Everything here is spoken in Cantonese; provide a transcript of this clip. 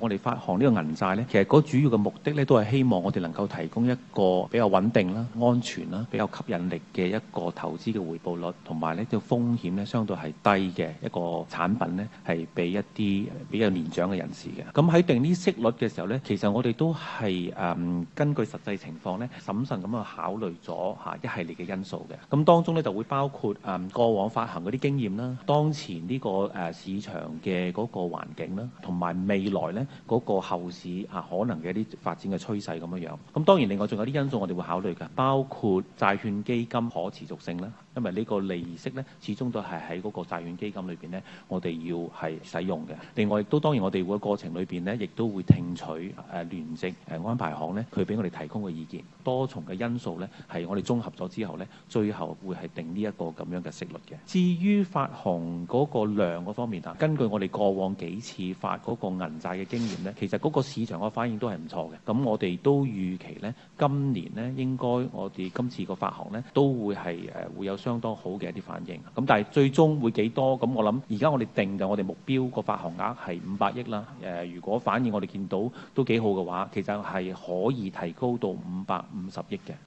我哋發行呢個銀債咧，其實嗰主要嘅目的咧，都係希望我哋能夠提供一個比較穩定啦、安全啦、比較吸引力嘅一個投資嘅回報率，同埋咧個風險咧相對係低嘅一個產品咧，係俾一啲比較年長嘅人士嘅。咁喺定呢息率嘅時候咧，其實我哋都係根據實際情況咧，審慎咁去考慮咗一系列嘅因素嘅。咁當中咧就會包括過往發行嗰啲經驗啦，當前呢個市場嘅嗰個環境啦，同埋未來咧嗰個後市可能嘅一啲發展嘅趨勢咁樣樣。咁當然另外仲有啲因素我哋會考慮嘅，包括債券基金可持續性啦，因為呢個利息咧始終都係喺嗰個債券基金裏邊咧，我哋要係使用嘅。另外亦都當然我哋會過程裏邊咧，亦都會聽取聯席安排行咧佢俾我哋提供嘅意見，多重嘅因素咧係我哋綜合咗之後咧，最後會係定呢一個咁樣嘅息率嘅。至於發行嗰個量嗰方面啊，根據我哋過往幾次發嗰個銀債嘅經驗咧，其實嗰個市場嘅反應都係唔錯嘅。咁我哋都預期咧，今年咧應該我哋今次個發行咧都會係會有相當好嘅一啲反應。咁但係最終會幾多？咁我諗而家我哋定嘅我哋目標個發行額係500億啦。如果反應我哋見到都幾好嘅話，其實係可以提高到550億嘅。